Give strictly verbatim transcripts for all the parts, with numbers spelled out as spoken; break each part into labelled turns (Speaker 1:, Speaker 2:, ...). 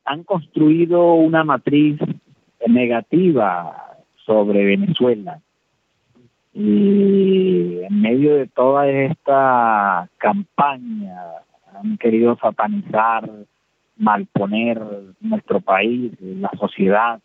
Speaker 1: han construido una matriz negativa sobre Venezuela. Y en medio de toda esta campaña han querido satanizar, malponer nuestro país, la sociedad.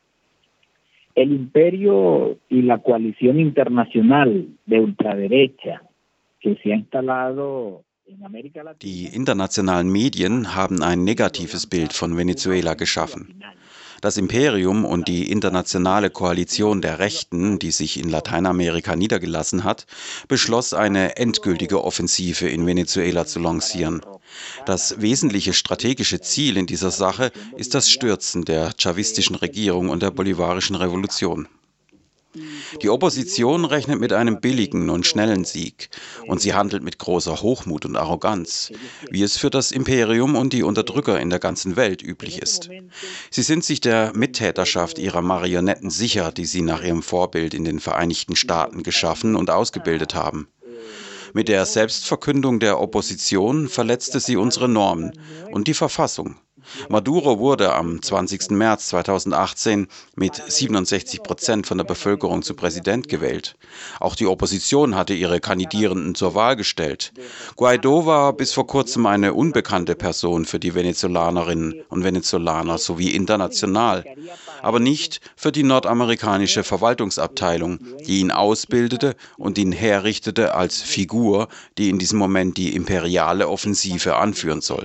Speaker 1: El imperio y la coalición internacional de ultraderecha que se ha instalado in Amerika Latina.
Speaker 2: Die internationalen Medien haben ein negatives Bild von Venezuela geschaffen. Das Imperium und die internationale Koalition der Rechten, die sich in Lateinamerika niedergelassen hat, beschloss, eine endgültige Offensive in Venezuela zu lancieren. Das wesentliche strategische Ziel in dieser Sache ist das Stürzen der chavistischen Regierung und der bolivarischen Revolution. Die Opposition rechnet mit einem billigen und schnellen Sieg und sie handelt mit großer Hochmut und Arroganz, wie es für das Imperium und die Unterdrücker in der ganzen Welt üblich ist. Sie sind sich der Mittäterschaft ihrer Marionetten sicher, die sie nach ihrem Vorbild in den Vereinigten Staaten geschaffen und ausgebildet haben. Mit der Selbstverkündung der Opposition verletzte sie unsere Normen und die Verfassung. Maduro wurde am zwanzigsten März zweitausendachtzehn mit siebenundsechzig Prozent von der Bevölkerung zu Präsident gewählt. Auch die Opposition hatte ihre Kandidierenden zur Wahl gestellt. Guaidó war bis vor kurzem eine unbekannte Person für die Venezolanerinnen und Venezolaner sowie international, aber nicht für die nordamerikanische Verwaltungsabteilung, die ihn ausbildete und ihn herrichtete als Figur, die in diesem Moment die imperiale Offensive anführen soll.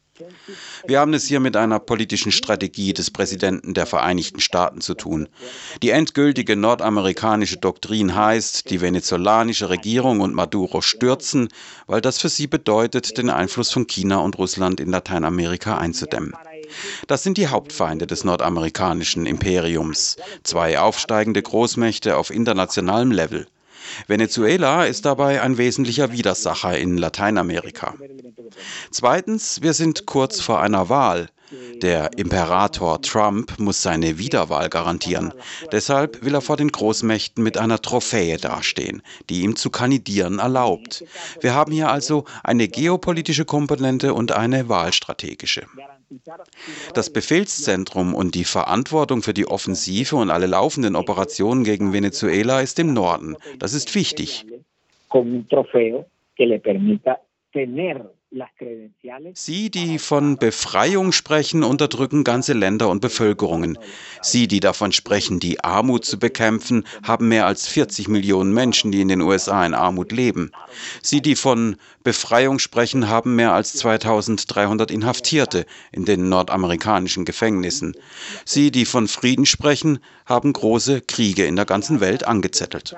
Speaker 2: Wir haben es hier mit einer politischen Strategie des Präsidenten der Vereinigten Staaten zu tun. Die endgültige nordamerikanische Doktrin heißt, die venezolanische Regierung und Maduro stürzen, weil das für sie bedeutet, den Einfluss von China und Russland in Lateinamerika einzudämmen. Das sind die Hauptfeinde des nordamerikanischen Imperiums, zwei aufsteigende Großmächte auf internationalem Level. Venezuela ist dabei ein wesentlicher Widersacher in Lateinamerika. Zweitens, wir sind kurz vor einer Wahl. Der Imperator Trump muss seine Wiederwahl garantieren. Deshalb will er vor den Großmächten mit einer Trophäe dastehen, die ihm zu kandidieren erlaubt. Wir haben hier also eine geopolitische Komponente und eine wahlstrategische. Das Befehlszentrum und die Verantwortung für die Offensive und alle laufenden Operationen gegen Venezuela ist im Norden. Das ist wichtig. Sie, die von Befreiung sprechen, unterdrücken ganze Länder und Bevölkerungen. Sie, die davon sprechen, die Armut zu bekämpfen, haben mehr als vierzig Millionen Menschen, die in den U S A in Armut leben. Sie, die von Befreiung sprechen, haben mehr als zweitausenddreihundert Inhaftierte in den nordamerikanischen Gefängnissen. Sie, die von Frieden sprechen, haben große Kriege in der ganzen Welt angezettelt.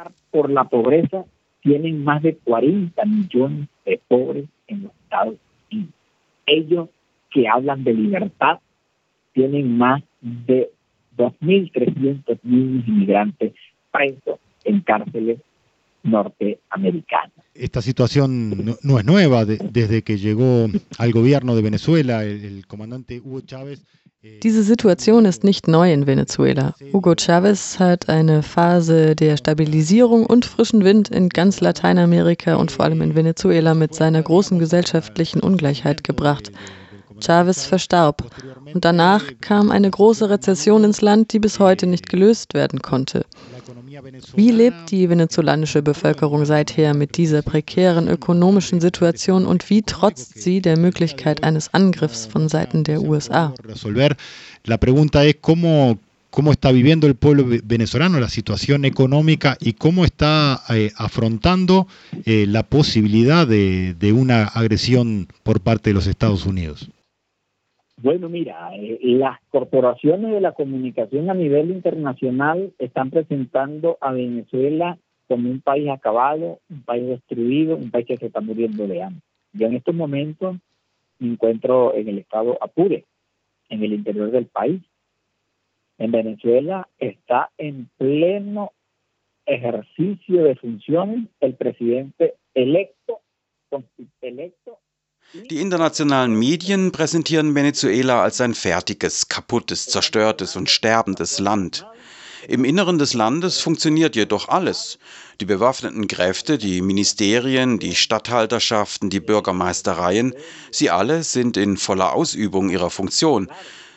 Speaker 1: Tienen más de cuarenta millones de pobres en los Estados Unidos. Ellos que hablan de libertad tienen más de dos mil trescientos niños inmigrantes presos en cárceles norteamericanas.
Speaker 3: Esta situación no, no es nueva. De, desde que llegó al gobierno de Venezuela, el, el comandante Hugo Chávez.
Speaker 4: Diese Situation ist nicht neu in Venezuela. Hugo Chávez hat eine Phase der Stabilisierung und frischen Wind in ganz Lateinamerika und vor allem in Venezuela mit seiner großen gesellschaftlichen Ungleichheit gebracht. Chávez verstarb und danach kam eine große Rezession ins Land, die bis heute nicht gelöst werden konnte. Wie lebt die venezolanische Bevölkerung seither mit dieser prekären ökonomischen Situation und wie trotzt sie der Möglichkeit eines Angriffs von Seiten der U S A?
Speaker 3: La pregunta es cómo cómo está viviendo el pueblo venezolano la situación económica y cómo está eh, afrontando eh, la posibilidad de, de una agresión por parte de los Estados Unidos.
Speaker 1: Bueno, mira, eh, las corporaciones de la comunicación a nivel internacional están presentando a Venezuela como un país acabado, un país destruido, un país que se está muriendo de hambre. Yo en estos momentos me encuentro en el estado Apure, en el interior del país. En Venezuela está en pleno ejercicio de funciones el presidente electo, electo.
Speaker 2: Die internationalen Medien präsentieren Venezuela als ein fertiges, kaputtes, zerstörtes und sterbendes Land. Im Inneren des Landes funktioniert jedoch alles. Die bewaffneten Kräfte, die Ministerien, die Statthalterschaften, die Bürgermeistereien, sie alle sind in voller Ausübung ihrer Funktion.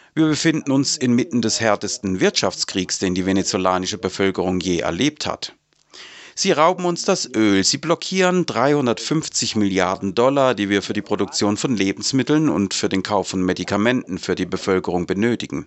Speaker 2: Wir befinden uns inmitten des härtesten Wirtschaftskriegs, den die venezolanische Bevölkerung je erlebt hat. Sie rauben uns das Öl, sie blockieren dreihundertfünfzig Milliarden Dollar, die wir für die Produktion von Lebensmitteln und für den Kauf von Medikamenten für die Bevölkerung benötigen.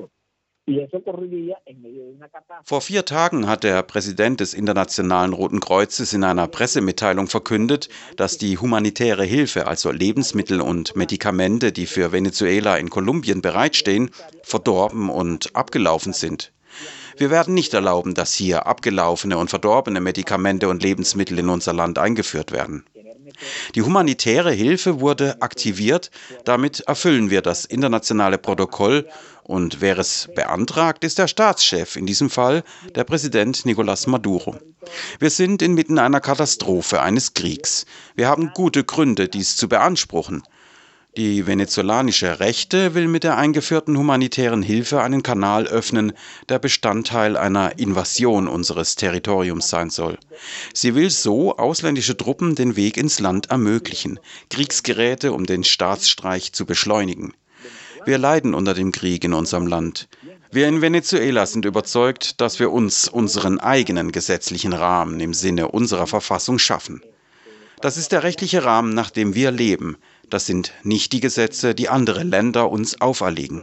Speaker 2: Vor vier Tagen hat der Präsident des Internationalen Roten Kreuzes in einer Pressemitteilung verkündet, dass die humanitäre Hilfe, also Lebensmittel und Medikamente, die für Venezuela in Kolumbien bereitstehen, verdorben und abgelaufen sind. Wir werden nicht erlauben, dass hier abgelaufene und verdorbene Medikamente und Lebensmittel in unser Land eingeführt werden. Die humanitäre Hilfe wurde aktiviert, damit erfüllen wir das internationale Protokoll und wer es beantragt, ist der Staatschef, in diesem Fall der Präsident Nicolás Maduro. Wir sind inmitten einer Katastrophe, eines Kriegs. Wir haben gute Gründe, dies zu beanspruchen. Die venezolanische Rechte will mit der eingeführten humanitären Hilfe einen Kanal öffnen, der Bestandteil einer Invasion unseres Territoriums sein soll. Sie will so ausländische Truppen den Weg ins Land ermöglichen, Kriegsgeräte, um den Staatsstreich zu beschleunigen. Wir leiden unter dem Krieg in unserem Land. Wir in Venezuela sind überzeugt, dass wir uns unseren eigenen gesetzlichen Rahmen im Sinne unserer Verfassung schaffen. Das ist der rechtliche Rahmen, nach dem wir leben. Das sind nicht die Gesetze, die andere Länder uns auferlegen.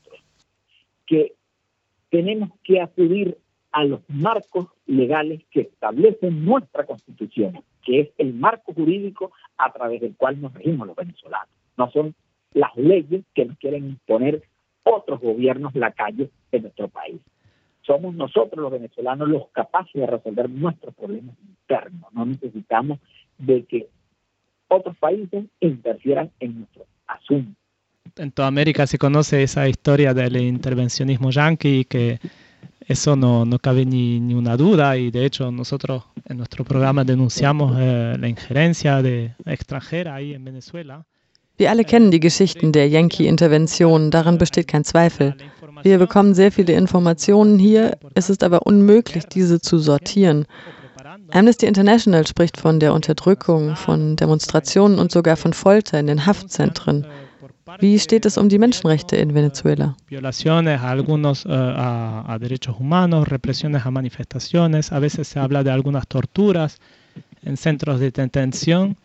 Speaker 1: Que tenemos que acudir a los marcos legales que establecen nuestra Constitución, que es el marco jurídico a través del cual nos regimos los venezolanos. No son las leyes que nos quieren imponer otros gobiernos lacayos de nuestro país. Somos nosotros los venezolanos los capaces de resolver nuestros problemas internos. No necesitamos de que otros países interfieran en nuestro asunto.
Speaker 5: En toda América se conoce esa historia del intervencionismo yanqui, que eso no, no cabe ni, ni una duda, y de hecho nosotros en nuestro programa denunciamos eh, la injerencia de extranjera ahí en Venezuela.
Speaker 4: Wir alle kennen die Geschichten der Yankee-Intervention, daran besteht kein Zweifel. Wir bekommen sehr viele Informationen hier, es ist aber unmöglich, diese zu sortieren. Amnesty International spricht von der Unterdrückung, von Demonstrationen und sogar von Folter in den Haftzentren. Wie steht es um die Menschenrechte in Venezuela?
Speaker 5: Violaciones a algunos uh, a, a derechos humanos, represiones a manifestaciones, a veces se habla de algunas torturas en centros de detención.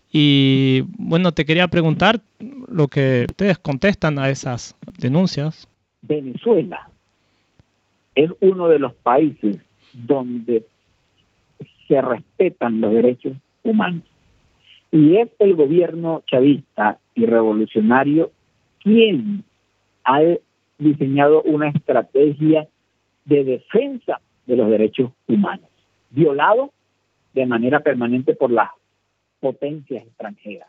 Speaker 5: Y bueno, te quería preguntar lo que ustedes contestan a esas denuncias.
Speaker 1: Venezuela es uno de los países donde se respetan los derechos humanos. Y es el gobierno chavista y revolucionario quien ha diseñado una estrategia de defensa de los derechos humanos, violado de manera permanente por las potencias extranjeras.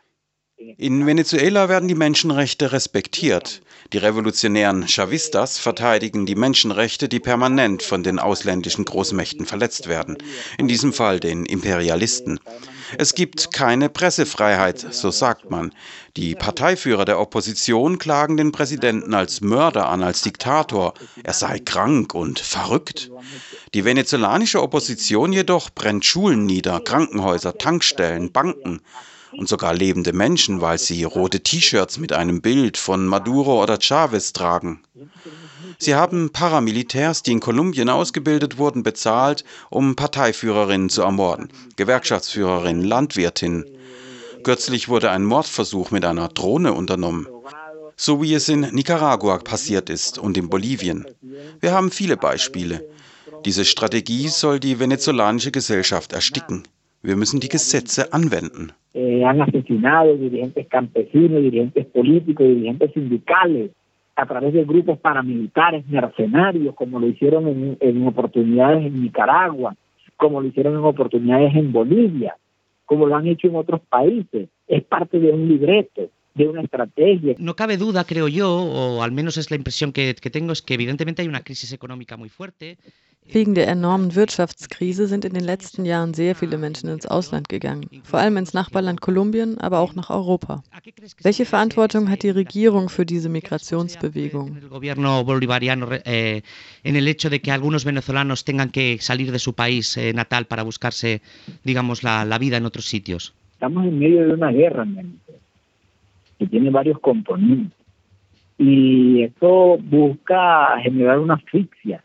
Speaker 2: In Venezuela werden die Menschenrechte respektiert. Die revolutionären Chavistas verteidigen die Menschenrechte, die permanent von den ausländischen Großmächten verletzt werden, in diesem Fall den Imperialisten. Es gibt keine Pressefreiheit, so sagt man. Die Parteiführer der Opposition klagen den Präsidenten als Mörder an, als Diktator. Er sei krank und verrückt. Die venezolanische Opposition jedoch brennt Schulen nieder, Krankenhäuser, Tankstellen, Banken. Und sogar lebende Menschen, weil sie rote T-Shirts mit einem Bild von Maduro oder Chavez tragen. Sie haben Paramilitärs, die in Kolumbien ausgebildet wurden, bezahlt, um Parteiführerinnen zu ermorden, Gewerkschaftsführerinnen, Landwirtinnen. Kürzlich wurde ein Mordversuch mit einer Drohne unternommen, so wie es in Nicaragua passiert ist und in Bolivien. Wir haben viele Beispiele. Diese Strategie soll die venezolanische Gesellschaft ersticken. Wir müssen die Gesetze anwenden.
Speaker 1: Eh, han asesinado dirigentes campesinos, dirigentes políticos, dirigentes sindicales a través de grupos paramilitares, mercenarios, como lo hicieron en, en oportunidades en Nicaragua, como lo hicieron en oportunidades en Bolivia, como lo han hecho en otros países. Es parte de un libreto, de una estrategia.
Speaker 6: No cabe duda, creo yo, o al menos es la impresión que, que tengo, es que evidentemente hay una crisis económica muy fuerte.
Speaker 4: Wegen der enormen Wirtschaftskrise sind in den letzten Jahren sehr viele Menschen ins Ausland gegangen, vor allem ins Nachbarland Kolumbien, aber auch nach Europa. Welche Verantwortung hat die Regierung für diese Migrationsbewegung?
Speaker 6: El gobierno bolivariano eh, en el hecho de que algunos venezolanos tengan que salir de su país eh, natal para buscarse, digamos, la, la vida en otros sitios.
Speaker 1: Estamos en medio de una guerra, que tiene varios componentes. Y esto busca generar una asfixia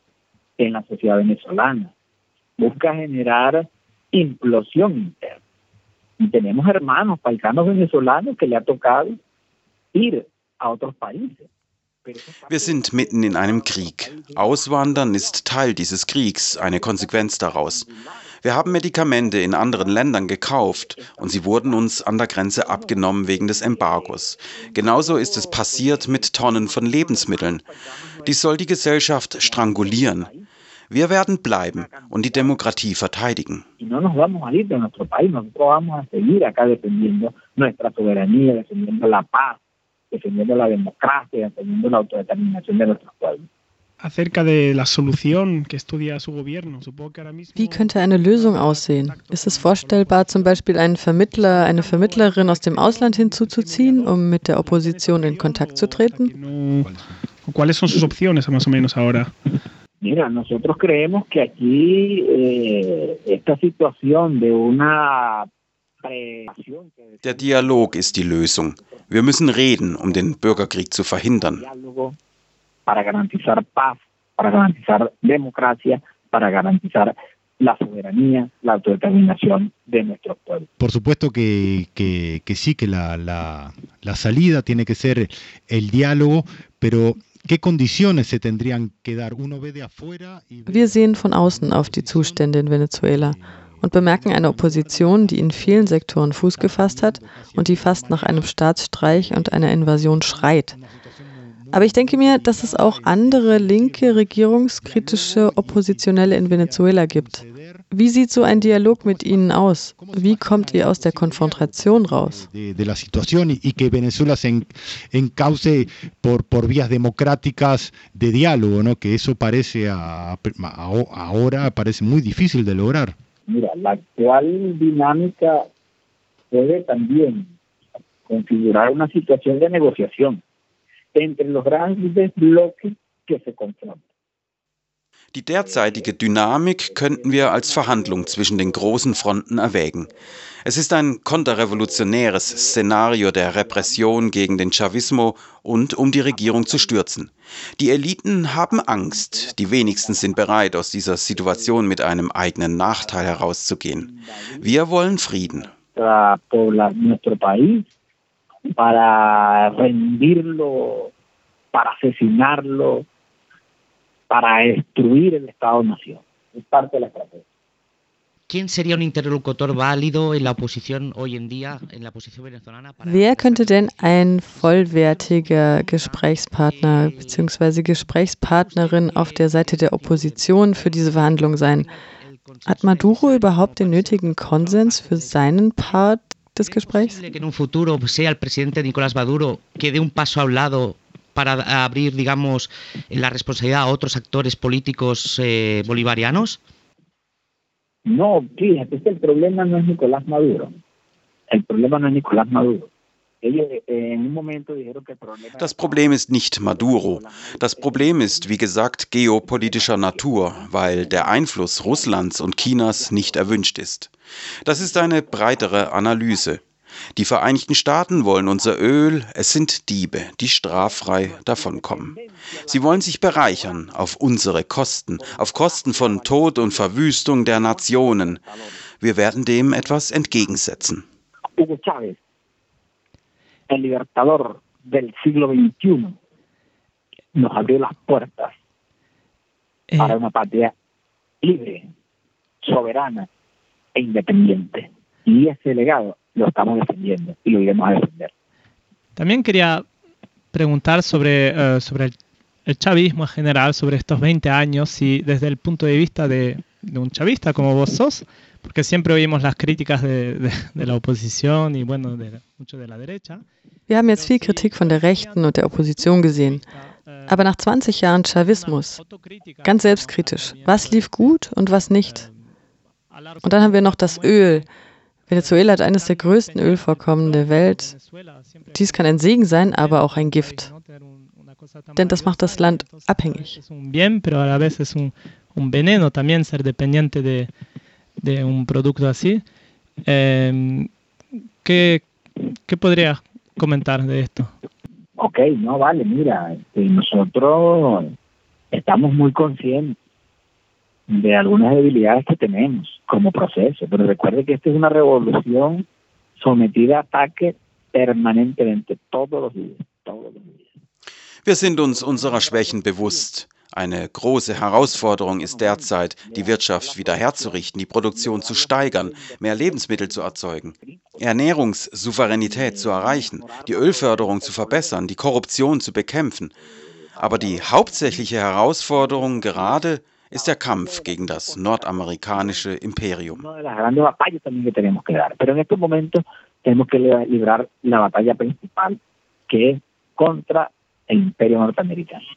Speaker 1: en la sociedad venezolana, busca generar implosión interna. Y tenemos hermanos, paisanos venezolanos que le ha tocado ir a otros países.
Speaker 2: Wir sind mitten in einem Krieg. Auswandern ist Teil dieses Kriegs, eine Konsequenz daraus. Wir haben Medikamente in anderen Ländern gekauft und sie wurden uns an der Grenze abgenommen wegen des Embargos. Genauso ist es passiert mit Tonnen von Lebensmitteln. Dies soll die Gesellschaft strangulieren. Wir werden bleiben und die Demokratie verteidigen.
Speaker 1: No nos vamos a ir de nuestro país, nosotros vamos a seguir acá defendiendo nuestra soberanía, defendiendo la paz, defendiendo la democracia, defendiendo la autodeterminación de nuestros pueblos.
Speaker 7: Acerca de la solución que estudia su gobierno, supongo que ahora mismo.
Speaker 4: Wie könnte eine Lösung aussehen? Ist es vorstellbar, zum Beispiel einen Vermittler, eine Vermittlerin aus dem Ausland hinzuzuziehen, um mit der Opposition in Kontakt zu treten?
Speaker 7: ¿Cuáles son sus opciones más o menos ahora?
Speaker 1: Mira, nosotros creemos que aquí eh, esta situación de una presión.
Speaker 2: Der Dialog ist die Lösung. Wir müssen reden, um den Bürgerkrieg zu verhindern.
Speaker 1: Para garantizar paz, para garantizar democracia, para garantizar la soberanía, la autodeterminación de nuestros pueblos.
Speaker 3: Por supuesto que, que, que sí, que la, la, la salida tiene que ser el diálogo, pero ¿qué condiciones se tendrían que dar? Uno ve de afuera y ve...
Speaker 4: Wir sehen von außen auf die Zustände in Venezuela und bemerken eine Opposition, die in vielen Sektoren Fuß gefasst hat und die fast nach einem Staatsstreich und einer Invasion schreit. Aber ich denke mir, dass es auch andere linke, regierungskritische Oppositionelle in Venezuela gibt. Wie sieht so ein Dialog mit ihnen aus? Wie kommt ihr aus der Konfrontation raus?
Speaker 3: De, de la situación y, y que Venezuela se en, encauce por, por vías democráticas de diálogo, ¿no? Que eso parece a, a, ahora parece muy difícil de lograr.
Speaker 1: Mira, la actual dinámica puede también configurar una situación de negociación entre los grandes bloques que se confrontan.
Speaker 2: Die derzeitige Dynamik könnten wir als Verhandlung zwischen den großen Fronten erwägen. Es ist ein konterrevolutionäres Szenario der Repression gegen den Chavismo und um die Regierung zu stürzen. Die Eliten haben Angst, die wenigsten sind bereit, aus dieser Situation mit einem eigenen Nachteil herauszugehen. Wir wollen Frieden.
Speaker 1: Para rendirlo, para asesinarlo, para destruir el Estado-Nación. Es parte de la estrategia.
Speaker 6: ¿Quién sería un interlocutor válido en la oposición hoy en día, en la oposición venezolana?
Speaker 4: Wer könnte denn ein vollwertiger Gesprächspartner bzw. Gesprächspartnerin auf der Seite der Opposition für diese Verhandlung sein? Hat Maduro überhaupt den nötigen Konsens für seinen Part des Gesprächs?
Speaker 6: Que en un futuro sea el presidente Nicolás Maduro que dé un paso a un lado para abrir, digamos, la responsabilidad a otros actores políticos eh, bolivarianos?
Speaker 1: No, fíjate, el problema no es Nicolás Maduro. El problema no es Nicolás Maduro. Ellos en un momento dijeron que el problema...
Speaker 2: Das Problem ist nicht Maduro. Das Problem ist, wie gesagt, geopolitischer Natur, weil der Einfluss Russlands und Chinas nicht erwünscht ist. Das ist eine breitere Analyse. Die Vereinigten Staaten wollen unser Öl, es sind Diebe, die straffrei davonkommen. Sie wollen sich bereichern auf unsere Kosten, auf Kosten von Tod und Verwüstung der Nationen. Wir werden dem etwas entgegensetzen.
Speaker 1: Hugo Chávez, el libertador del siglo veintiuno, nos abrió las puertas para una patria libre, soberana e independiente. Y ese legado lo estamos defendiendo y lo iremos a defender.
Speaker 5: También quería preguntar sobre, uh, sobre el, el chavismo en general, sobre estos veinte años, y desde el punto de vista de, de un chavista como vos sos, porque siempre oímos las críticas de, de, de la oposición y bueno, de, mucho de la derecha.
Speaker 4: Wir haben jetzt viel Kritik von der Rechten und der Opposition gesehen. Aber nach zwanzig Jahren Chavismus, ganz selbstkritisch, was lief gut und was nicht? Und dann haben wir noch das Öl. Venezuela hat eines der größten Ölvorkommen der Welt. Dies kann ein Segen sein, aber auch ein Gift. Denn das macht das Land abhängig.
Speaker 5: Es un bien, pero a la vez es un, un veneno también ser dependiente de, de un producto así. Eh, ¿qué, ¿Qué podrías comentar de esto?
Speaker 1: ok, no, vale, mira, este, nosotros estamos muy conscientes de algunas debilidades que tenemos como proceso, pero recuerde que esta es una revolución sometida a ataque permanentemente, todos los días, todos los días.
Speaker 2: Wir sind uns unserer Schwächen bewusst. Eine große Herausforderung ist derzeit, die Wirtschaft wieder herzurichten, die Produktion zu steigern, mehr Lebensmittel zu erzeugen, Ernährungssouveränität zu erreichen, die Ölförderung zu verbessern, die Korruption zu bekämpfen. Aber die hauptsächliche Herausforderung gerade ist der Kampf gegen das nordamerikanische Imperium.
Speaker 1: Una de las grandes batallas también que tenemos que dar, pero en estos momentos tenemos que librar la batalla principal, que es contra el imperio norteamericano.